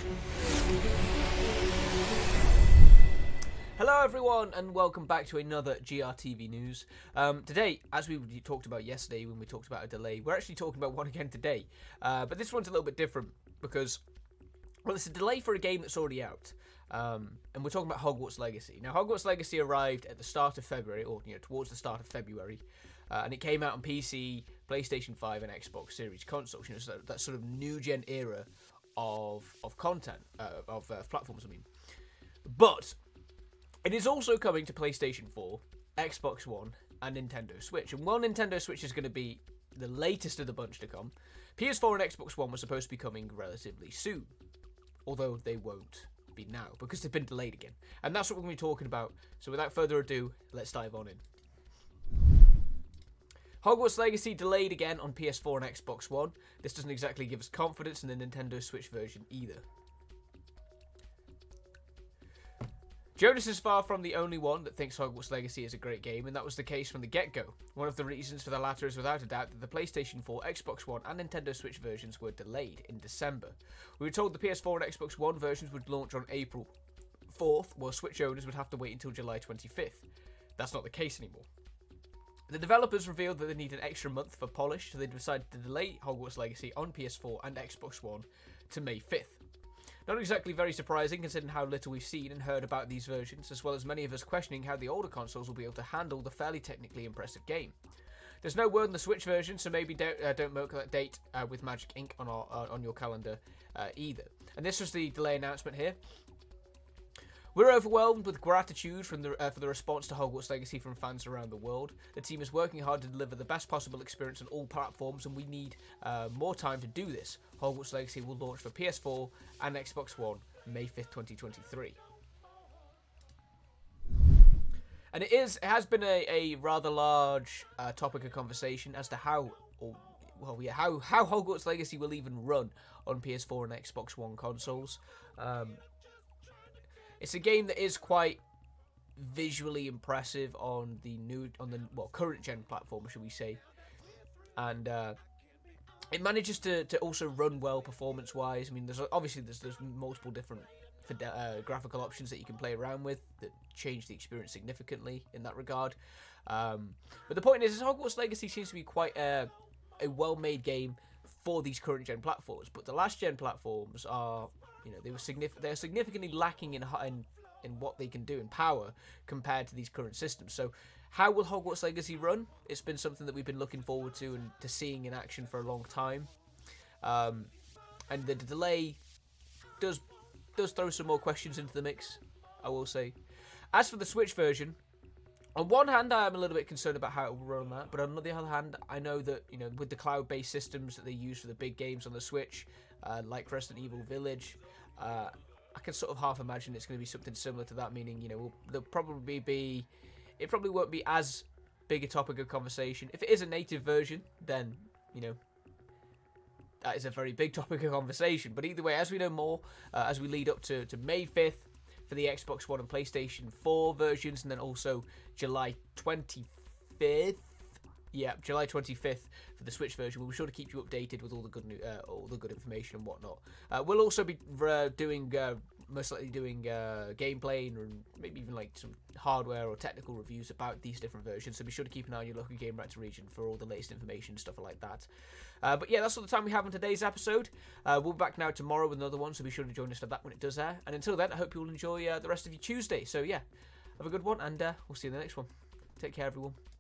Hello everyone and welcome back to another GRTV news. Today, as we talked about yesterday when we talked about a delay, we're actually talking about one again today. But this one's a little bit different because, well, it's a delay for a game that's already out. And we're talking about Hogwarts Legacy. Now, Hogwarts Legacy arrived at the start of February, or towards the start of February, and it came out on PC, PlayStation 5, and Xbox Series consoles. So that sort of new gen era of content, of platforms. I mean, but it is also coming to PlayStation 4, Xbox One, and Nintendo Switch. And while Nintendo Switch is going to be the latest of the bunch to come, PS4 and Xbox One were supposed to be coming relatively soon. Although they won't be now, because they've been delayed again. And that's what we're going to be talking about. So without further ado, let's dive on in. Hogwarts Legacy delayed again on PS4 and Xbox One. This doesn't exactly give us confidence in the Nintendo Switch version either. Jonas is far from the only one that thinks Hogwarts Legacy is a great game, and that was the case from the get-go. One of the reasons for the latter is without a doubt that the PlayStation 4, Xbox One and Nintendo Switch versions were delayed in December. We were told the PS4 and Xbox One versions would launch on April 4th, while Switch owners would have to wait until July 25th. That's not the case anymore. The developers revealed that they need an extra month for polish, so they decided to delay Hogwarts Legacy on PS4 and Xbox One to May 5th. Not exactly very surprising considering how little we've seen and heard about these versions, as well as many of us questioning how the older consoles will be able to handle the fairly technically impressive game. There's no word on the Switch version, so maybe don't mark that date with Magic Ink on your calendar either. And this was the delay announcement here. We're overwhelmed with gratitude for the response to Hogwarts Legacy from fans around the world. The team is working hard to deliver the best possible experience on all platforms, and we need more time to do this. Hogwarts Legacy will launch for PS4 and Xbox One May 5th, 2023. And it has been a rather large topic of conversation as to how Hogwarts Legacy will even run on PS4 and Xbox One consoles. It's a game that is quite visually impressive on the current gen platform, should we say, and it manages to also run well performance-wise. I mean, there's multiple different graphical options that you can play around with that change the experience significantly in that regard. But the point is Hogwarts Legacy seems to be quite a well-made game for these current gen platforms, but the last gen platforms are, they're significantly lacking in what they can do in power compared to these current systems. So how will Hogwarts Legacy run? It's been something that we've been looking forward to and to seeing in action for a long time. And the delay does throw some more questions into the mix, I will say. As for the Switch version, on one hand, I am a little bit concerned about how it will run on that, but on the other hand, I know that, with the cloud-based systems that they use for the big games on the Switch, like Resident Evil Village, I can sort of half imagine it's going to be something similar to that, meaning, it probably won't be as big a topic of conversation. If it is a native version, then, that is a very big topic of conversation. But either way, as we know more, as we lead up to May 5th for the Xbox One and PlayStation 4 versions, and then also July 25th. Yeah, July 25th for the Switch version. We'll be sure to keep you updated with all the good information and whatnot. We'll also be most likely doing gameplay and maybe even like some hardware or technical reviews about these different versions. So be sure to keep an eye on your local Game Reactor region for all the latest information and stuff like that. But yeah, that's all the time we have on today's episode. We'll be back now tomorrow with another one, so be sure to join us for that when it does air. And until then, I hope you'll enjoy the rest of your Tuesday. So yeah, have a good one, and we'll see you in the next one. Take care, everyone.